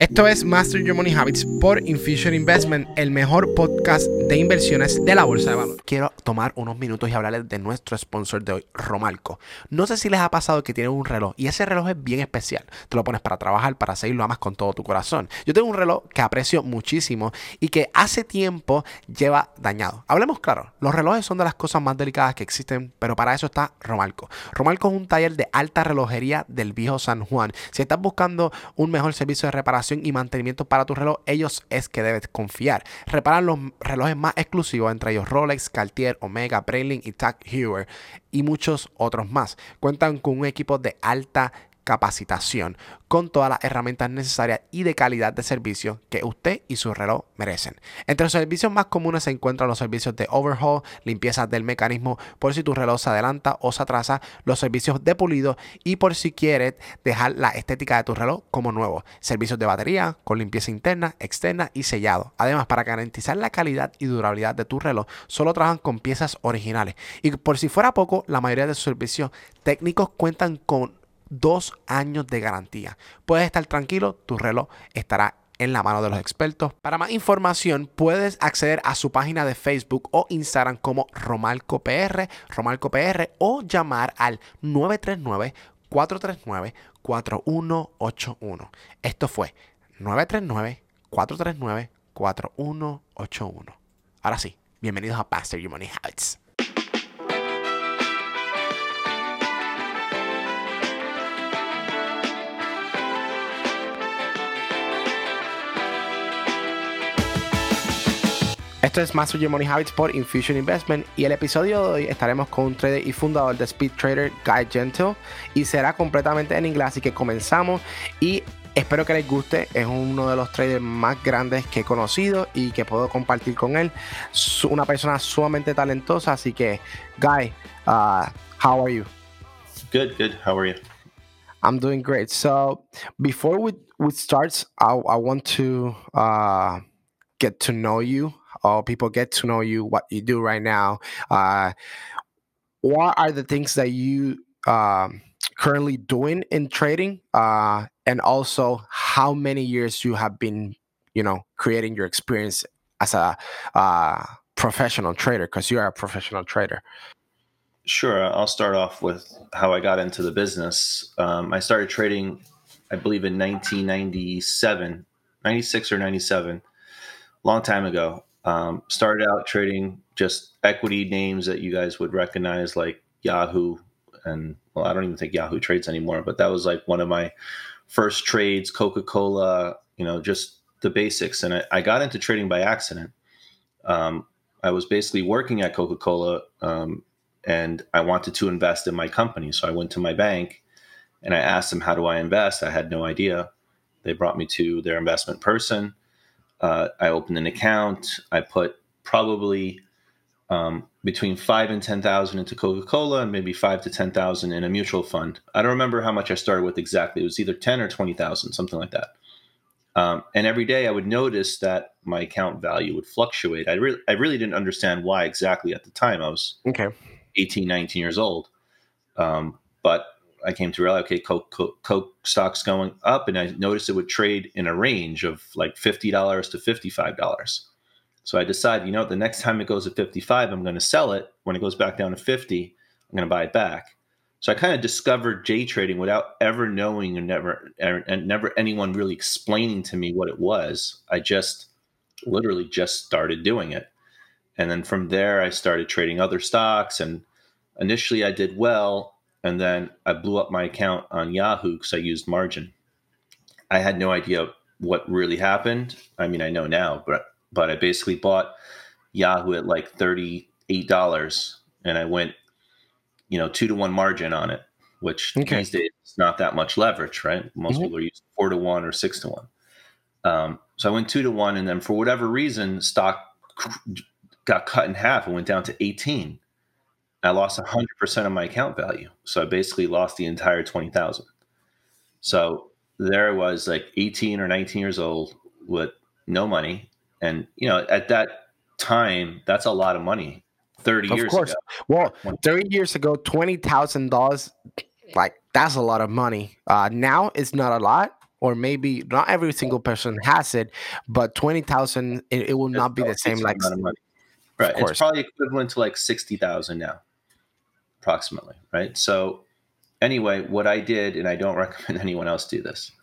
Esto es Master Your Money Habits por Infusion Investment, el mejor podcast de inversiones de la bolsa de valores. Quiero tomar unos minutos y hablarles de nuestro sponsor de hoy, Romalco. No sé si les ha pasado que tienen un reloj y ese reloj es bien especial. Te lo pones para trabajar, para seguir, lo amas con todo tu corazón. Yo tengo un reloj que aprecio muchísimo y que hace tiempo lleva dañado. Hablemos claro, los relojes son de las cosas más delicadas que existen, pero para eso está Romalco. Romalco es un taller de alta relojería del viejo San Juan. Si estás buscando un mejor servicio de reparación y mantenimiento para tu reloj, ellos es que debes confiar. Reparan los relojes más exclusivos, entre ellos Rolex, Cartier, Omega, Breitling y Tag Heuer y muchos otros más. Cuentan con un equipo de alta capacitación con todas las herramientas necesarias y de calidad de servicio que usted y su reloj merecen. Entre los servicios más comunes se encuentran los servicios de overhaul, limpieza del mecanismo por si tu reloj se adelanta o se atrasa, los servicios de pulido y por si quieres dejar la estética de tu reloj como nuevo, servicios de batería con limpieza interna, externa y sellado. Además, para garantizar la calidad y durabilidad de tu reloj, solo trabajan con piezas originales. Y por si fuera poco, la mayoría de sus servicios técnicos cuentan con 2 años de garantía. Puedes estar tranquilo, tu reloj estará en la mano de los expertos. Para más información, puedes acceder a su página de Facebook o Instagram como Romalco PR o llamar al 939-439-4181. Esto fue 939-439-4181. Ahora sí, bienvenidos a Master Your Money Habits. Esto es Master Your Money Habits por Infusion Investment y el episodio de hoy estaremos con un trader y fundador de Speed Trader, Guy Gentle, y será completamente en inglés, así que comenzamos y espero que les guste. Es uno de los traders más grandes que he conocido y que puedo compartir con él. Una persona sumamente talentosa, así que Guy, how are you? Good. How are you? I'm doing great. So before we start, I want to get to know you. People get to know you, what you do right now. What are the things that you currently doing in trading? And also how many years you have been, creating your experience as a professional trader, because you are a professional trader. Sure. I'll start off with how I got into the business. I started trading, I believe, in 1997, 96 or 97, long time ago. Started out trading just equity names that you guys would recognize, like Yahoo. And, well, I don't even think Yahoo trades anymore, but that was like one of my first trades, Coca-Cola, just the basics. And I got into trading by accident. I was basically working at Coca-Cola, and I wanted to invest in my company. So I went to my bank and I asked them, how do I invest? I had no idea. They brought me to their investment person. I opened an account. I put probably between 5 and 10,000 into Coca-Cola and maybe 5 to 10,000 in a mutual fund. I don't remember how much I started with exactly. It was either 10 or 20,000, something like that. And every day I would notice that my account value would fluctuate. I really didn't understand why exactly at the time. I was 18, 19 years old. But I came to realize, okay, Coke stock's going up, and I noticed it would trade in a range of like $50 to $55. So I decided, the next time it goes to 55, I'm going to sell it. When it goes back down to 50, I'm going to buy it back. So I kind of discovered day trading without ever knowing and never anyone really explaining to me what it was. I literally just started doing it. And then from there, I started trading other stocks. And initially I did well. And then I blew up my account on Yahoo because I used margin. I had no idea what really happened. I mean, I know now, but I basically bought Yahoo at like $38, and I went, 2-to-1 margin on it, which these days is not that much leverage, right? Most people are using 4-to-1 or 6-to-1. So I went 2-to-1, and then for whatever reason, stock got cut in half and went down to 18. I lost 100% of my account value. So I basically lost the entire 20,000. So there I was, like 18 or 19 years old with no money. And, at that time, that's a lot of money. 30 years ago. Well, 30 years ago, $20,000, like, that's a lot of money. Now it's not a lot. or maybe not every single person has it, but 20,000, it will It's not be still the a same. decent Like, amount of money. of Right. It's course. probably equivalent to like 60,000 now, approximately. Right. So anyway, what I did, and I don't recommend anyone else do this.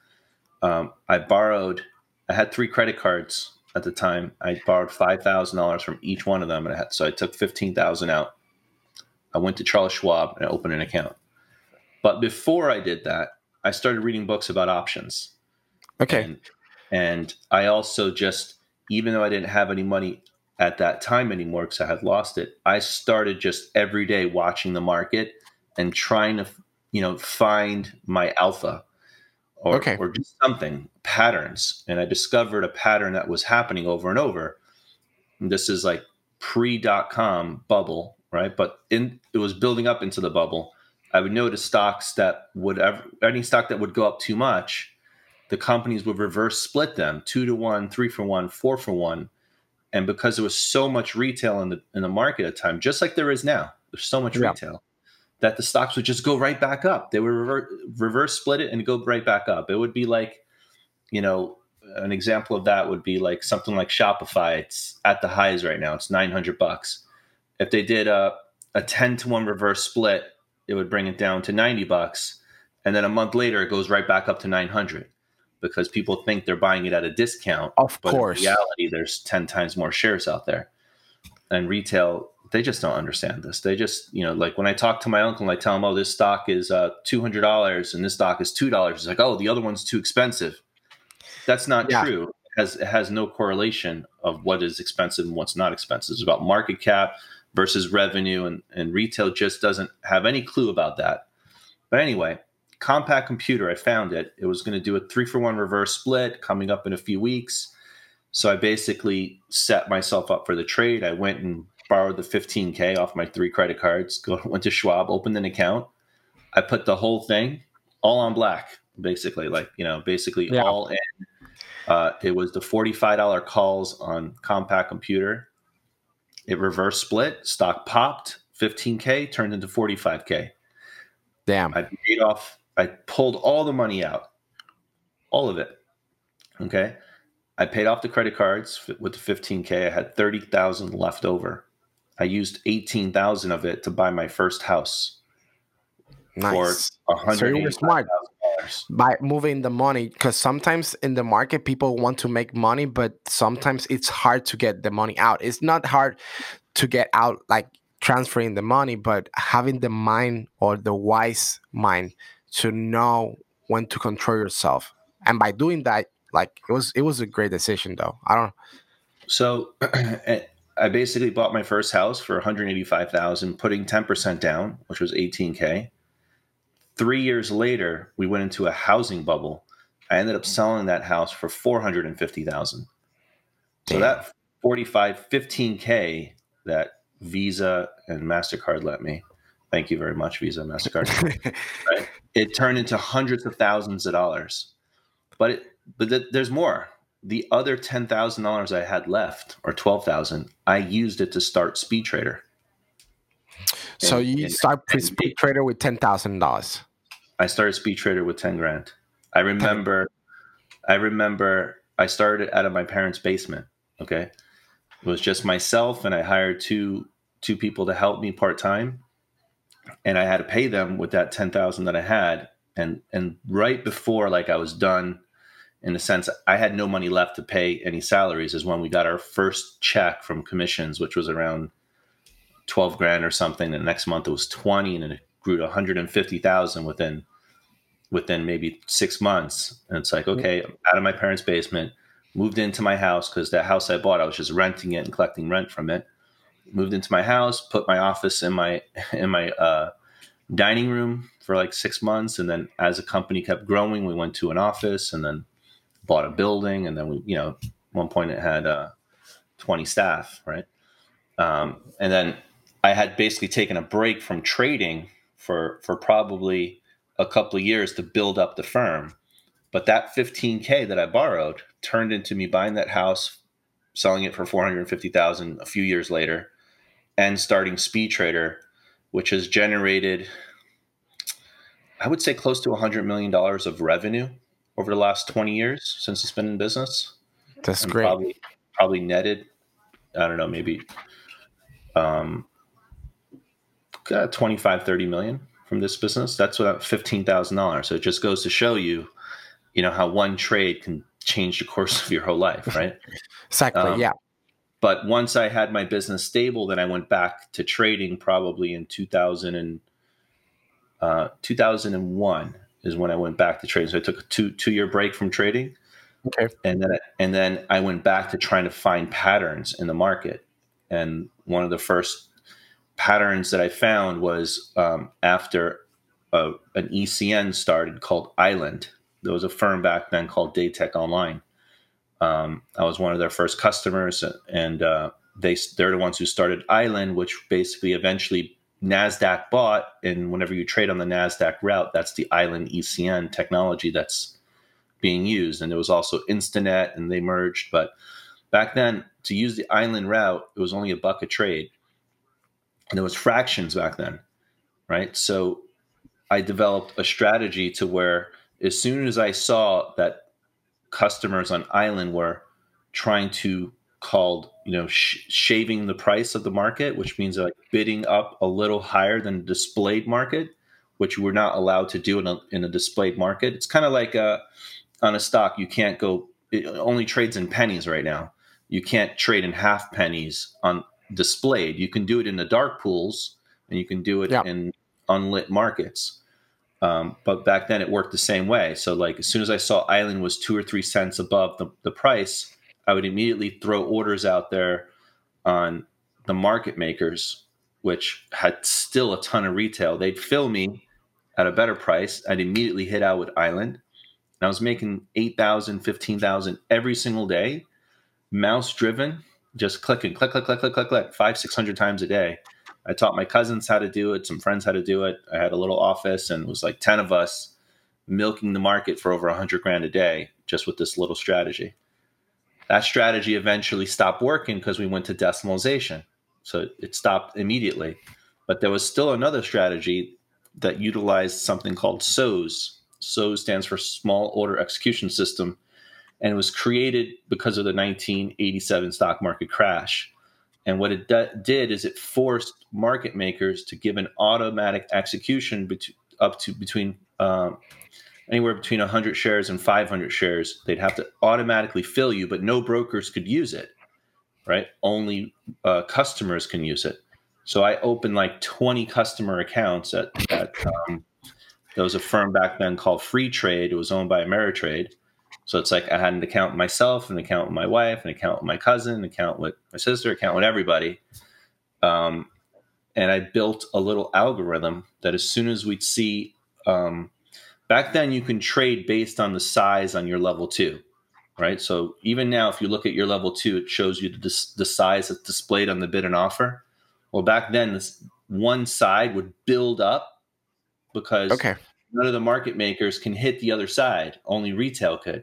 I had 3 credit cards at the time. I borrowed $5,000 from each one of them. So I took 15,000 out. I went to Charles Schwab and I opened an account. But before I did that, I started reading books about options. Okay. And I also just, even though I didn't have any money at that time anymore because I had lost it, I started just every day watching the market and trying to, find my alpha Okay. or just something, patterns. And I discovered a pattern that was happening over and over. And this is like pre-dot-com bubble, right? But it was building up into the bubble. I would notice stocks that any stock that would go up too much, the companies would reverse split them 2-to-1, 3-for-1, 4-for-1. And because there was so much retail in the market at the time, just like there is now, there's so much Yeah. retail that the stocks would just go right back up. They would reverse split it and go right back up. It would be like, an example of that would be like something like Shopify. It's at the highs right now. It's $900. If they did a 10-to-1 reverse split, it would bring it down to $90. And then a month later, it goes right back up to 900 because people think they're buying it at a discount. Of But in course. reality, there's 10 times more shares out there. And retail, they just don't understand this. They just, like when I talk to my uncle and I tell him, oh, this stock is $200 and this stock is $2, he's like, oh, the other one's too expensive. That's not Yeah. true. It has no correlation of what is expensive and what's not expensive. It's about market cap versus revenue, and retail just doesn't have any clue about that. But anyway, Compaq Computer, I found it. It was going to do a 3-for-1 reverse split coming up in a few weeks. So I basically set myself up for the trade. I went and borrowed the 15K off my 3 credit cards, went to Schwab, opened an account. I put the whole thing all on black, basically, basically Yeah. all in. It was the $45 calls on Compaq Computer. It reverse split, stock popped, 15K turned into 45K. Damn. I pulled all the money out, all of it. Okay. I paid off the credit cards with the 15K. I had 30,000 left over. I used 18,000 of it to buy my first house for Nice. So you were smart $185,000. by moving the money, because sometimes in the market people want to make money, but sometimes it's hard to get the money out. It's not hard to get out like transferring the money, but having the mind, or the wise mind, to know when to control yourself. And by doing that, like, it was a great decision though. I don't. So I basically bought my first house for 185,000, putting 10% down, which was 18K. 3 years later, we went into a housing bubble. I ended up selling that house for 450,000. So Damn. that 15K that Visa and MasterCard let me, thank you very much, Visa and MasterCard, right? It turned into hundreds of thousands of dollars. But there's more. The other $10,000 I had left, or 12,000, I used it to start Speed Trader. So you start Speed Trader with $10,000. I started Speed Trader with 10 grand. I remember I started out of my parents' basement. Okay. It was just myself, and I hired two people to help me part-time. And I had to pay them with that 10,000 that I had. And right before, like, I was done, in the sense I had no money left to pay any salaries, is when we got our first check from commissions, which was around 12 grand or something. The next month it was 20, and then it grew to 150,000 within maybe 6 months. And it's like, okay, I'm out of my parents' basement, moved into my house, because that house I bought, I was just renting it and collecting rent from it. Moved into my house, put my office in my dining room for like 6 months. And then as the company kept growing, we went to an office, and then bought a building. And then we, at one point it had 20 staff, right? And then I had basically taken a break from trading for probably a couple of years to build up the firm. But that 15K that I borrowed turned into me buying that house, selling it for 450,000 a few years later, and starting Speed Trader, which has generated, I would say, close to $100 million of revenue over the last 20 years since it's been in business. That's And great. probably netted, I don't know, maybe 25, 30 million from this business. That's about $15,000. So it just goes to show you, how one trade can change the course of your whole life, right? Exactly. Yeah. But once I had my business stable, then I went back to trading probably in 2001 is when I went back to trading. So I took a two-year break from trading. Okay. And then I went back to trying to find patterns in the market. And one of the first patterns that I found was after an ECN started called Island. There was a firm back then called Daytech Online. I was one of their first customers, and they're the ones who started Island, which basically eventually NASDAQ bought. And whenever you trade on the NASDAQ route, that's the Island ECN technology that's being used. And there was also Instanet, and they merged. But back then, to use the Island route, it was only $1 a trade. And there was fractions back then, right? So I developed a strategy to where as soon as I saw that customers on Island were trying to shaving the price of the market, which means like bidding up a little higher than the displayed market, which we're not allowed to do in a displayed market. It's kind of like on a stock, you can't go, it only trades in pennies right now. You can't trade in half pennies on displayed. You can do it in the dark pools, and you can do it in unlit markets. But back then it worked the same way. So like as soon as I saw Island was 2 or 3 cents above the price, I would immediately throw orders out there on the market makers, which had still a ton of retail. They'd fill me at a better price. I'd immediately hit out with Island. And I was making 8,000, 15,000 every single day, mouse driven, just clicking, click, click, click, click, click, click, 500-600 times a day. I taught my cousins how to do it, some friends how to do it. I had a little office, and it was like 10 of us milking the market for over 100 grand a day just with this little strategy. That strategy eventually stopped working because we went to decimalization. So it stopped immediately. But there was still another strategy that utilized something called SOS. SOS stands for Small Order Execution System, and it was created because of the 1987 stock market crash. And what it did is it forced market makers to give an automatic execution up to between anywhere between 100 shares and 500 shares. They'd have to automatically fill you, but no brokers could use it, right? Only customers can use it. So I opened like 20 customer accounts at there was a firm back then called Free Trade. It was owned by Ameritrade. So it's like I had an account with myself, an account with my wife, an account with my cousin, an account with my sister, an account with everybody. And I built a little algorithm that as soon as we'd see, back then you can trade based on the size on your level 2, right? So even now, if you look at your level 2, it shows you the size that's displayed on the bid and offer. Well, back then, this one side would build up because none of the market makers can hit the other side. Only retail could.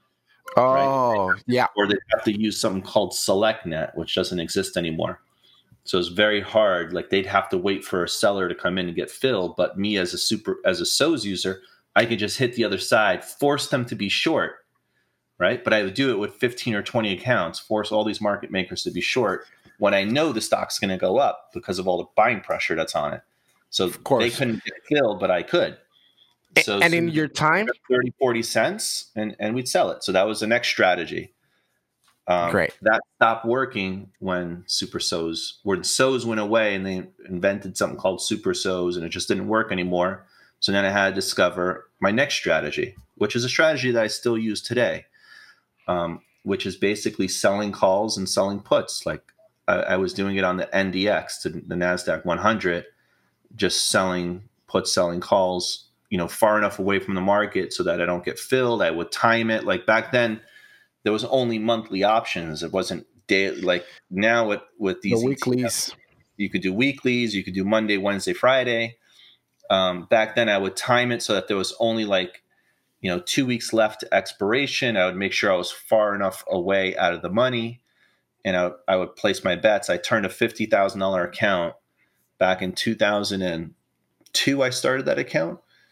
Oh, right? yeah. Or they have to use something called SelectNet, which doesn't exist anymore. So it's very hard. Like they'd have to wait for a seller to come in and get filled. But me as a SOS user, I could just hit the other side, force them to be short, right? But I would do it with 15 or 20 accounts, force all these market makers to be short when I know the stock's going to go up because of all the buying pressure that's on it. So they couldn't get filled, but I could. So and in your time, 30, 40 cents, and we'd sell it. So that was the next strategy. Great. That stopped working when SOS went away, and they invented something called Super SOS, and it just didn't work anymore. So then I had to discover my next strategy, which is a strategy that I still use today, which is basically selling calls and selling puts. Like I was doing it on the NDX, to the NASDAQ 100, just selling puts, selling calls, far enough away from the market so that I don't get filled. I would time it. Like back then, there was only monthly options. It wasn't daily. Like now with these weeklies, you could do weeklies. You could do Monday, Wednesday, Friday. Back then, I would time it so that there was only 2 weeks left to expiration. I would make sure I was far enough away out of the money, and I would place my bets. I turned a $50,000 account back in 2002. I started that account.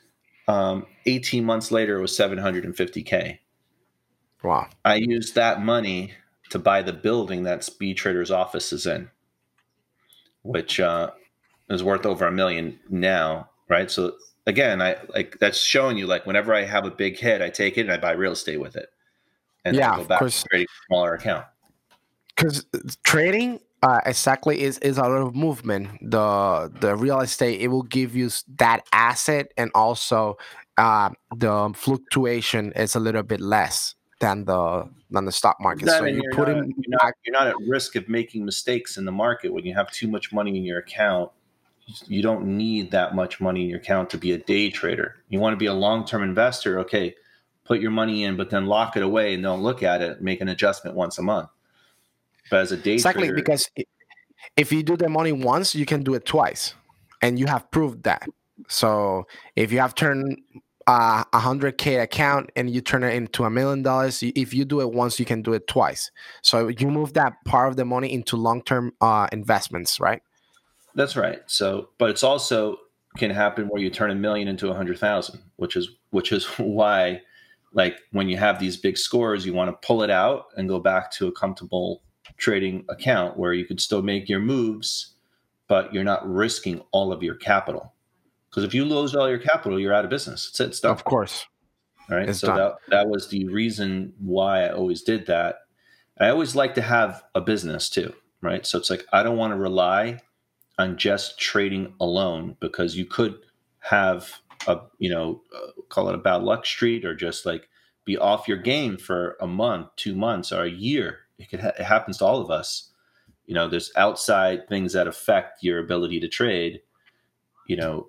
18 months later, it was 750K. Wow. I used that money to buy the building that Speed Trader's office is in, which is worth over $1 million now, right? So again, I like that's showing you like whenever I have a big hit, I take it and I buy real estate with it, and then I Yeah, go of back to course. trading a smaller account. Because trading exactly is a lot of movement. The real estate, it will give you that asset, and also the fluctuation is a little bit less than the stock market. That So and you put in back. you're not at risk of making mistakes in the market when you have too much money in your account. You don't need that much money in your account to be a day trader. You want to be a long-term investor. Okay, put your money in, but then lock it away and don't look at it. Make an adjustment once a month. But as a day Exactly, trader, because if you do the money once, you can do it twice, and you have proved that. So if you have turned 100K account and you turn it into $1 million, if you do it once, you can do it twice. So you move that part of the money into long-term investments, right? that's right. So, but it's also can happen where you turn 1 million into 100,000, which is why, like when you have these big scores, you want to pull it out and go back to a comfortable trading account where you could still make your moves, but you're not risking all of your capital. Because if you lose all your capital, you're out of business. It's done. Of course, All right. it's So done. that was the reason why I always did that. I always like to have a business too, right? So it's like I don't want to rely on just trading alone because you could have a call it a bad luck streak or just like be off your game for a month, 2 months, or a year. It happens to all of us. There's outside things that affect your ability to trade. You know,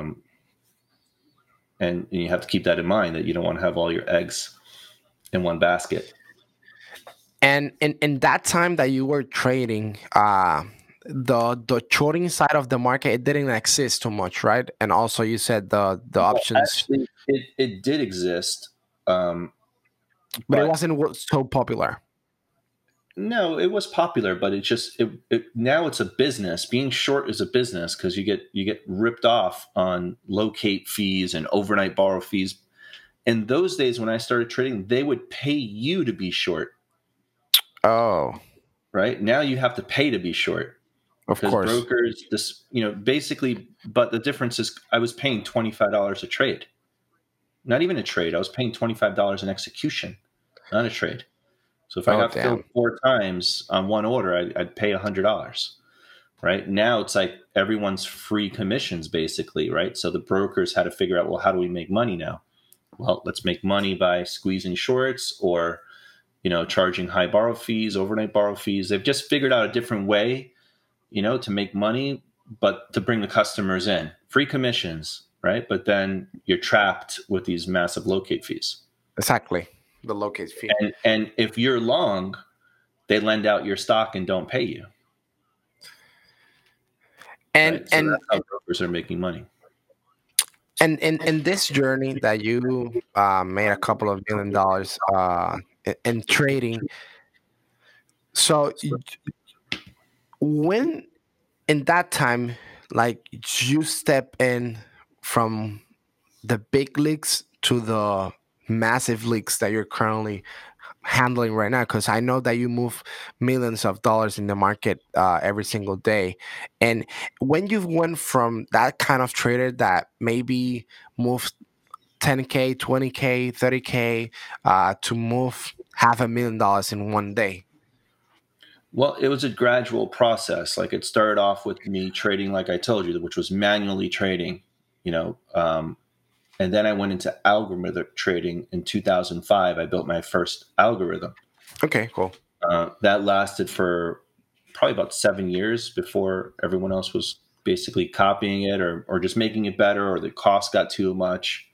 and you have to keep that in mind that you don't want to have all your eggs in one basket. And in that time that you were trading, the shorting side of the market, it didn't exist too much, right? And also you said the Well, options, actually, it did exist, um, but it but wasn't so popular. no, it was popular. But now it's a business. Being short is a business because you get ripped off on locate fees and overnight borrow fees. In those days when I started trading, they would pay you to be short. Oh, Right now, you have to pay to be short of because course. brokers, basically. But the difference is, I was paying $25 a trade. Not even a trade. I was paying $25 an execution, not a trade. So if I Oh, got filled damn. 4 times on one order, I'd pay $100. Right now, it's like everyone's free commissions, basically. Right. So the brokers had to figure out, well, how do we make money now? Well, let's make money by squeezing shorts or charging high borrow fees, overnight borrow fees. They've just figured out a different way, to make money, but to bring the customers in. Free commissions, right? But then you're trapped with these massive locate fees. Exactly. The locate fee. And if you're long, they lend out your stock and don't pay you, And right? So and that's how brokers are making money. and in this journey that you made a couple of $1 million in trading, so when in that time, like you step in from the big leagues to the massive leagues that you're currently handling right now, because I know that you move millions of dollars in the market every single day. And when you went from that kind of trader that maybe moved 10K, 20K, 30K to move $500,000 in one day. Well, it was a gradual process. Like it started off with me trading, like I told you, which was manually trading, you know, and then I went into algorithmic trading in 2005. I built my first algorithm. Okay, cool. That lasted for probably about 7 years before everyone else was basically copying it or just making it better, or the cost got too much.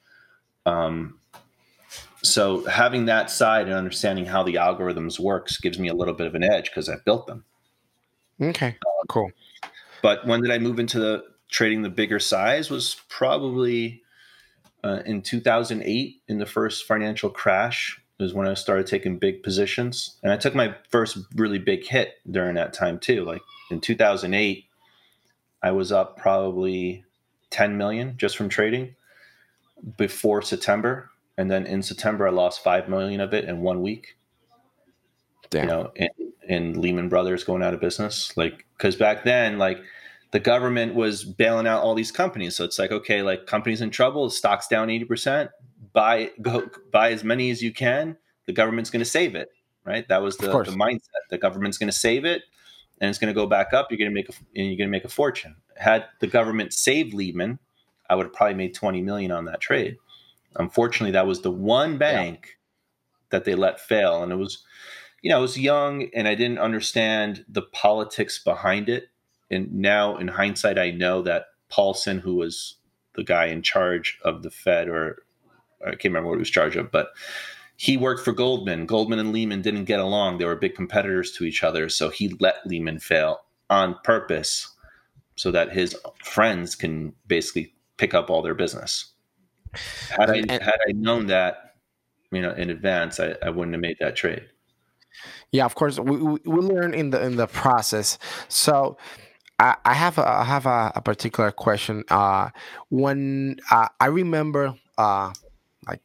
So having that side and understanding how the algorithms works gives me a little bit of an edge because I built them. Okay, cool. But when did I move into the trading the bigger size? Was probably in 2008, in the first financial crash, is when I started taking big positions, and I took my first really big hit during that time too. Like in 2008, I was up probably 10 million just from trading. before September, and then in September I lost 5 million of it in 1 week. Damn. You know, in Lehman Brothers going out of business, like, because back then, like, the government was bailing out all these companies, so it's like, okay, like, companies in trouble, stock's down 80%, buy as many as you can. The government's going to save it, right? That was the mindset. The government's going to save it, and it's going to go back up. You're going to make a fortune. Had the government saved Lehman, I would have probably made 20 million on that trade. Unfortunately, that was the one bank that they let fail, and it was, you know, I was young and I didn't understand the politics behind it. And now, in hindsight, I know that Paulson, who was the guy in charge of the Fed, or I can't remember what he was charged of, but he worked for Goldman. Goldman and Lehman didn't get along. They were big competitors to each other. So he let Lehman fail on purpose so that his friends can basically pick up all their business. Had I known that, you know, in advance, I wouldn't have made that trade. Yeah, of course, we learn in the process. So I have a particular question. When I remember, like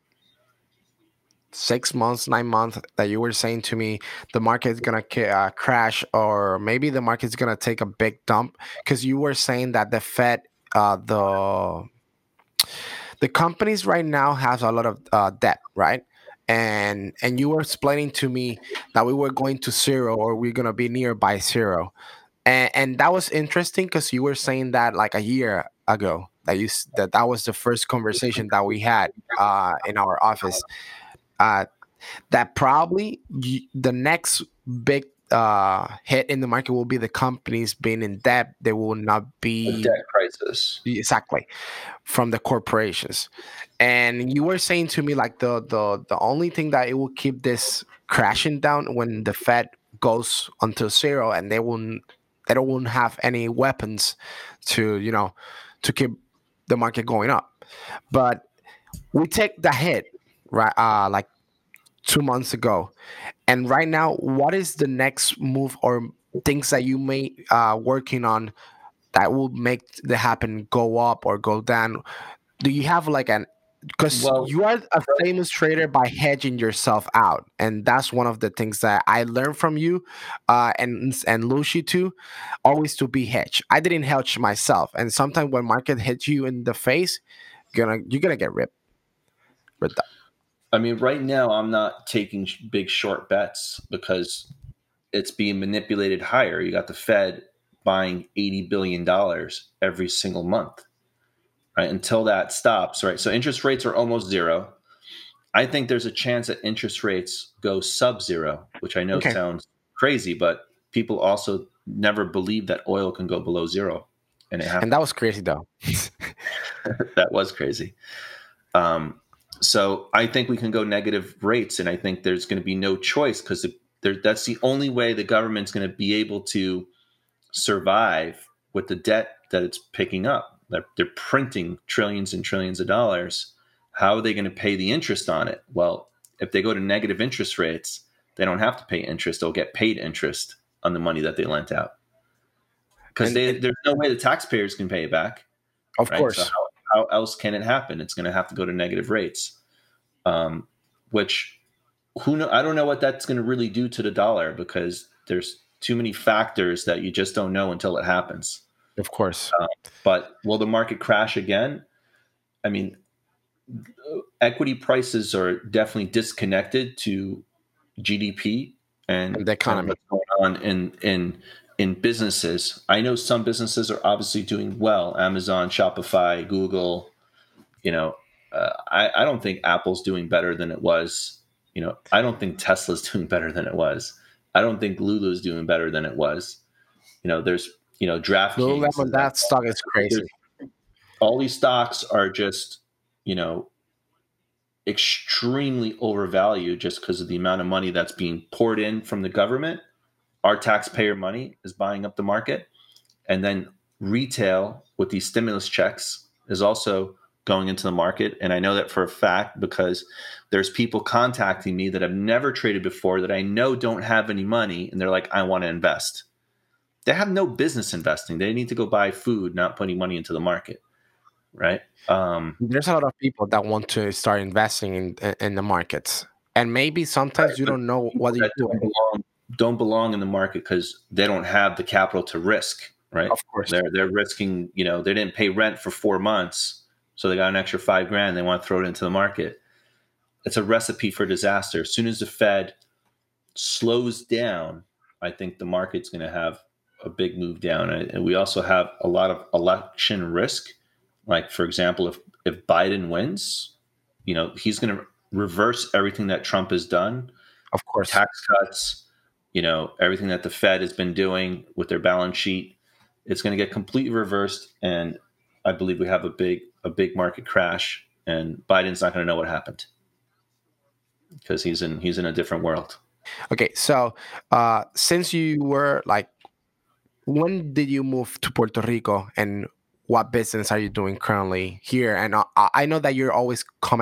6 months, 9 months, that you were saying to me the market's gonna crash, or maybe the market's gonna take a big dump, because you were saying that the Fed, the companies right now has a lot of debt, right? And you were explaining to me that we were going to zero, or we're gonna be nearby zero, and that was interesting, because you were saying that like a year ago, that was the first conversation that we had in our office. That probably the next big hit in the market will be the companies being in debt. They will not be a debt crisis, exactly, from the corporations. And you were saying to me like the only thing that it will keep this crashing down when the Fed goes until zero, and they don't have any weapons to, you know, to keep the market going up. But we take the hit, right? Like 2 months ago, and right now, what is the next move or things that you may working on that will make the happen go up or go down? Do you have like an, because you are a famous trader by hedging yourself out, and that's one of the things that I learned from you, and Lucy too, always to be hedged. I didn't hedge myself, and sometimes when market hits you in the face, you're gonna get ripped. I mean, right now I'm not taking big short bets because it's being manipulated higher. You got the Fed buying $80 billion every single month, right? Until that stops, right? So interest rates are almost zero. I think there's a chance that interest rates go sub-zero, which I know sounds crazy, but people also never believe that oil can go below zero. And it happened. And that was crazy, though. That was crazy. So I think we can go negative rates, and I think there's going to be no choice, because that's the only way the government's going to be able to survive with the debt that it's picking up. They're printing trillions and trillions of dollars. How are they going to pay the interest on it? Well, if they go to negative interest rates, they don't have to pay interest. They'll get paid interest on the money that they lent out, because there's no way the taxpayers can pay it back. Of course. So how else can it happen? It's going to have to go to negative rates, which I don't know what that's going to really do to the dollar, because there's too many factors that you just don't know until it happens. Of course. But will the market crash again? I mean, equity prices are definitely disconnected to GDP and the economy. And what's going on in businesses. I know some businesses are obviously doing well. Amazon, Shopify, Google. You know, I don't think Apple's doing better than it was. You know, I don't think Tesla's doing better than it was. I don't think Lulu's doing better than it was. You know, there's, you know, DraftKings. That stock is crazy. All these stocks are just, you know, extremely overvalued just because of the amount of money that's being poured in from the government. Our taxpayer money is buying up the market. And then retail with these stimulus checks is also going into the market. And I know that for a fact, because there's people contacting me that have never traded before that I know don't have any money. And they're like, I want to invest. They have no business investing. They need to go buy food, not putting money into the market. right? There's a lot of people that want to start investing in the markets, and maybe sometimes you But don't know people what you're that doing. don't belong in the market because they don't have the capital to risk, right? Of course. They're risking, they didn't pay rent for 4 months, so they got an extra $5,000. They want to throw it into the market. It's a recipe for disaster. As soon as the Fed slows down, I think the market's going to have a big move down. And we also have a lot of election risk. Like, for example, if Biden wins, he's going to reverse everything that Trump has done, Of course. tax cuts, everything that the Fed has been doing with their balance sheet. It's going to get completely reversed. And I believe we have a big market crash, and Biden's not going to know what happened because he's in a different world. Okay, so since you were like, when did you move to Puerto Rico, and what business are you doing currently here? And I know that you're always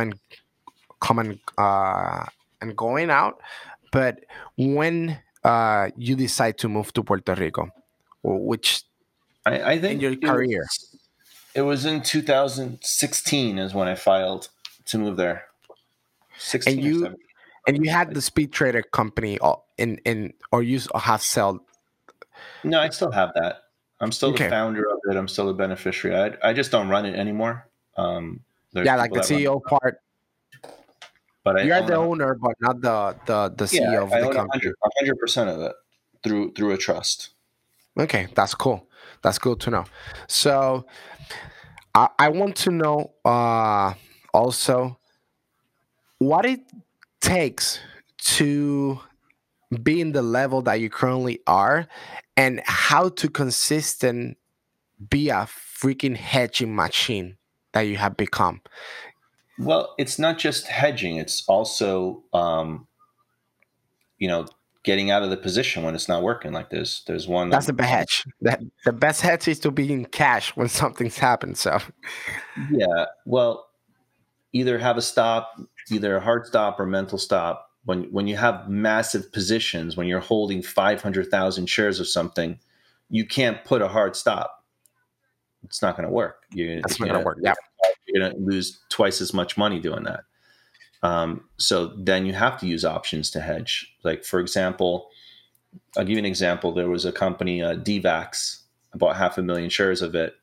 coming and going out, but when you decide to move to Puerto Rico, or which I in think your career, it was in 2016 is when I filed to move there. and 16 or you 17. had the Speed Trader company in or you have sold. No, I still have that. I'm still the Okay, founder of it. I'm still the beneficiary. I just don't run it anymore. There's yeah, like people the that run CEO it, part. but I You are own the owner, but not the yeah, CEO of I the own company. 100% of it through a trust. Okay, that's cool. That's good to know. So I want to know also what it takes to be in the level that you currently are, and how to consistent be a freaking hedging machine that you have become. Well, it's not just hedging. It's also, getting out of the position when it's not working. Like there's one That's the best hedge. The best hedge is to be in cash when something's happened. So yeah. Well, either have a stop, either a hard stop or mental stop. When you have massive positions, when you're holding 500,000 shares of something, you can't put a hard stop. It's not going to work. that's not gonna work. Yeah. You're gonna lose twice as much money doing that. So then you have to use options to hedge. Like, for example, I'll give you an example. There was a company, DVAX. I bought 500,000 shares of it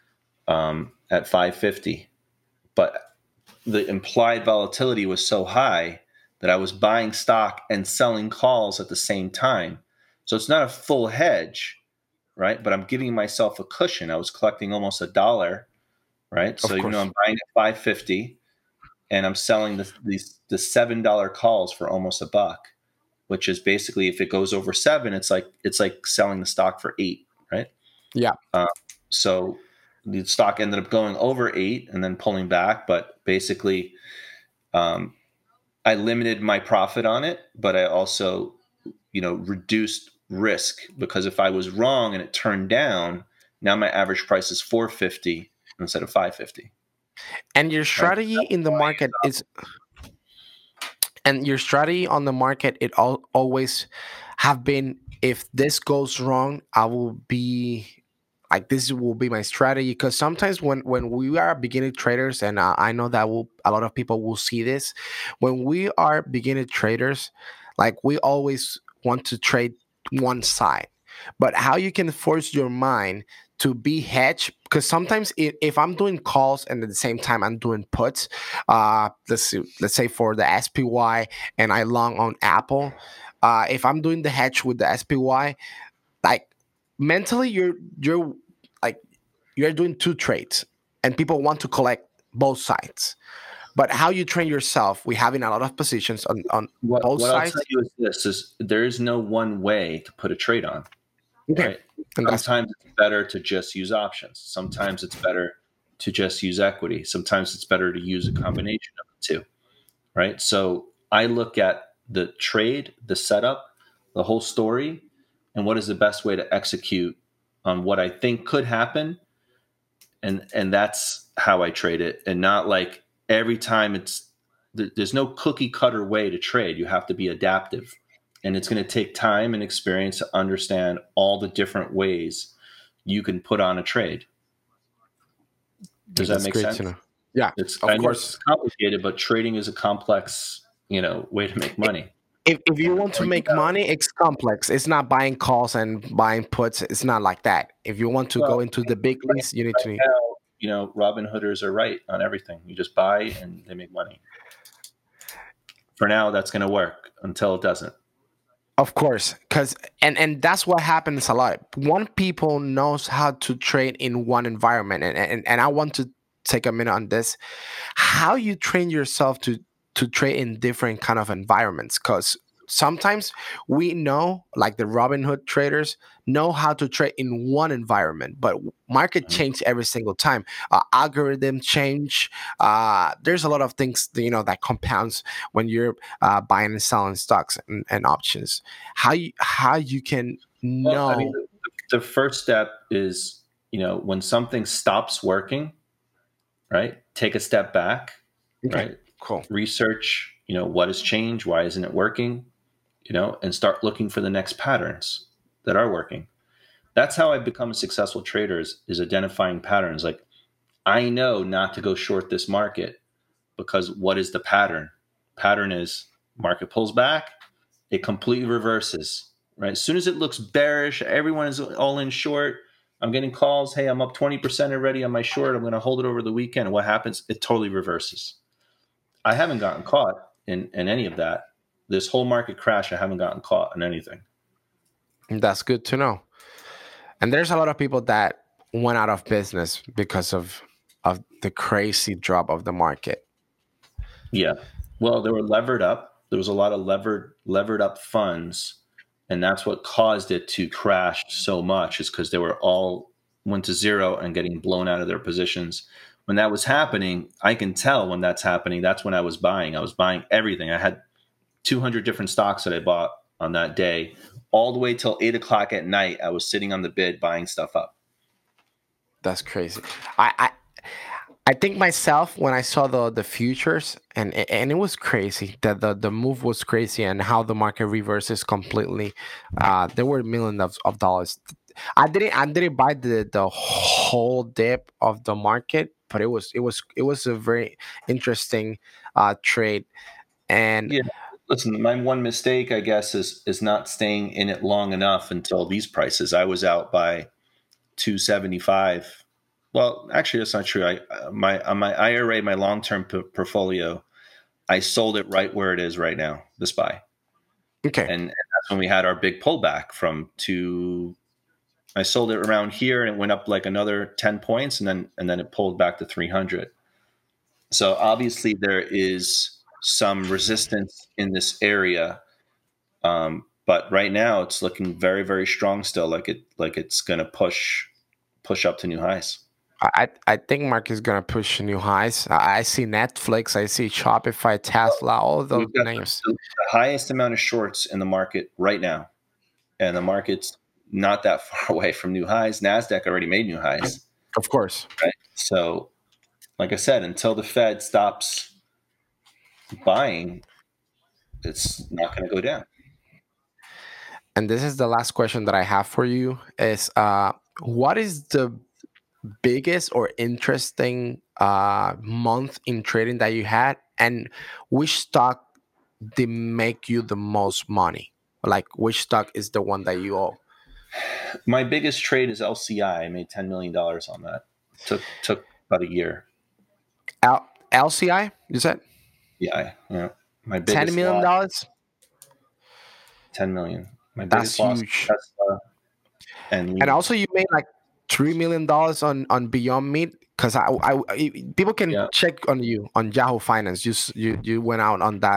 at 550, but the implied volatility was so high that I was buying stock and selling calls at the same time. So it's not a full hedge, right? But I'm giving myself a cushion. I was collecting almost $1, right? So Of even though course. I'm buying at 550 and I'm selling the $7 calls for almost $1, which is basically, if it goes over 7, it's like selling the stock for 8, right? Yeah. Uh, so the stock ended up going over 8 and then pulling back, but basically, um, I limited my profit on it, but I also, reduced risk, because if I was wrong and it turned down, now my average price is 450 instead of 550. And your Right? strategy in the market is, and your strategy on the market, it always have been, if this goes wrong, I will be like, this will be my strategy. Because sometimes when we are beginning traders, and I know that a lot of people will see this, when we are beginning traders, like, we always want to trade one side. But how you can force your mind to be hedged, because sometimes if I'm doing calls and at the same time I'm doing puts, let's say for the SPY, and I long on Apple, if I'm doing the hedge with the SPY, like, mentally you're like, you're doing two trades, and people want to collect both sides. But how you train yourself, we having a lot of positions on both What I'll tell sides. you is this: is there is no one way to put a trade on, Okay. right? And that's Sometimes it's better to just use options. Sometimes it's better to just use equity. Sometimes it's better to use a combination of the two, right? So I look at the trade, the setup, the whole story, and what is the best way to execute on what I think could happen, and that's how I trade it, and not like every time there's no cookie cutter way to trade. You have to be adaptive, and it's going to take time and experience to understand all the different ways you can put on a trade. Does that That's make great sense? to know. Yeah, I of know it's course. complicated, but trading is a complex, way to make money. If you And the want to more you make know, money, it's complex. It's not buying calls and buying puts. It's not like that. If you want to well, go into the big right, leagues, you need right to. now, Robin Hooders are right on everything. You just buy and they make money. For now, that's going to work until it doesn't. Of course, because and that's what happens a lot. One people knows how to trade in one environment, and I want to take a minute on this. How you train yourself to trade in different kind of environments? Because sometimes we know, like the Robinhood traders, know how to trade in one environment, but market Mhm. change every single time. Algorithm change. There's a lot of things that compounds when you're buying and selling stocks and options. How you can Well, I mean, know? the first step is, when something stops working, right? Take a step back, Okay, right? cool. Research, what has changed? Why isn't it working? And start looking for the next patterns that are working. That's how I've become a successful trader is identifying patterns. Like, I know not to go short this market because what is the pattern? Pattern is market pulls back, it completely reverses, right? As soon as it looks bearish, everyone is all in short. I'm getting calls. Hey, I'm up 20% already on my short. I'm going to hold it over the weekend. And what happens? It totally reverses. I haven't gotten caught in any of that. This whole market crash, I haven't gotten caught in anything. That's good to know. And there's a lot of people that went out of business because of the crazy drop of the market. Yeah. Well, they were levered up. There was a lot of levered up funds, and that's what caused it to crash so much. Is because they were all went to zero and getting blown out of their positions. When that was happening, I can tell when that's happening. That's when I was buying. I was buying everything. I had 200 different stocks that I bought on that day, all the way till 8 o'clock at night. I was sitting on the bid buying stuff up. That's crazy. I think myself when I saw the futures and it was crazy that the move was crazy and how the market reverses completely. There were millions of dollars. I didn't buy the whole dip of the market, but it was a very interesting trade. And Yeah. Listen, my one mistake, I guess, is not staying in it long enough until these prices. I was out by 275. Well, actually, that's not true. On my IRA, my long term portfolio, I sold it right where it is right now, the SPY, okay, and that's when we had our big pullback from two. I sold it around here, and it went up like another 10 points, and then it pulled back to 300. So obviously, there is some resistance in this area. But right now, it's looking very, very strong still. Like it's going to push up to new highs. I think market is gonna push new highs. I see Netflix, I see Shopify, Tesla, all of those We've got names. the highest amount of shorts in the market right now, and the market's not that far away from new highs. Nasdaq already made new highs, Of course. right? So, like I said, until the Fed stops buying, it's not going to go down. And this is the last question that I have for you is what is the biggest or interesting month in trading that you had, and which stock did make you the most money? Like which stock is the one that you owe? My biggest trade is LCI. I made $10 million on that. Took about a year. LCI, you said Yeah. My $10 biggest million loss, dollars. 10 million. My That's biggest loss huge. was Tesla and And Lehman. also, you made like $3 million on Beyond Meat because people can Yeah, check on you on Yahoo Finance. You went out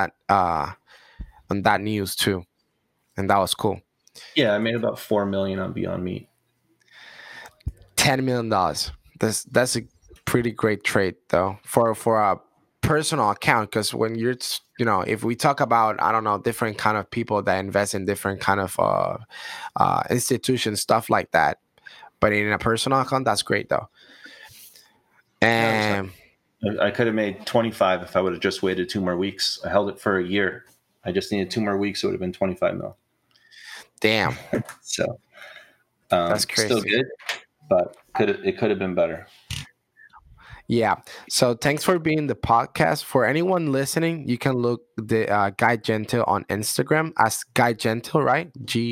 on that news too, and that was cool. yeah. I made about 4 million on Beyond Meat. $10 million. That's a pretty great trade though for a personal account, because when if we talk about, I don't know, different kind of people that invest in different kind of institutions, stuff like that, but in a personal account, that's great though. Yeah, it was And nice. I could have made 25 if I would have just waited 2 more weeks. I held it for a year. I just needed 2 more weeks. It would have been 25 mil. damn, So that's still crazy. good, but it could have been better. Yeah. So thanks for being the podcast. For anyone listening, you can look the Guy Gentil on Instagram as Guy Gentil, right?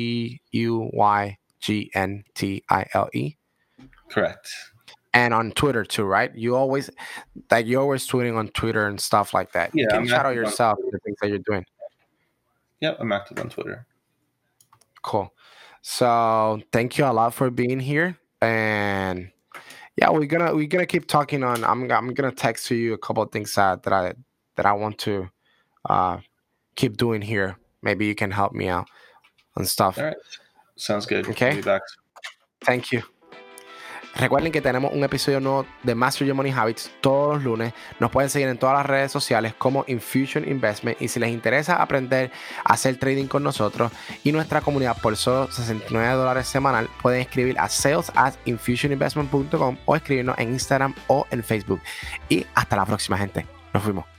GUYGNTILE. Correct. And on Twitter too, right? You're always tweeting on Twitter and stuff like that. You Yeah, can I'm shout out active on yourself Twitter. the things that you're doing. Yep, I'm active on Twitter. Cool. So thank you a lot for being here. And yeah, we're gonna keep talking on. I'm gonna text to you a couple of things that I want to uh keep doing here. Maybe you can help me out on stuff. All right. Sounds good. Okay. I'll be back. Thank you. Recuerden que tenemos un episodio nuevo de Master Your Money Habits todos los lunes. Nos pueden seguir en todas las redes sociales como Infusion Investment. Y si les interesa aprender a hacer trading con nosotros y nuestra comunidad por solo $69 semanal, pueden escribir a sales@infusioninvestment.com o escribirnos en Instagram o en Facebook. Y hasta la próxima, gente. Nos fuimos.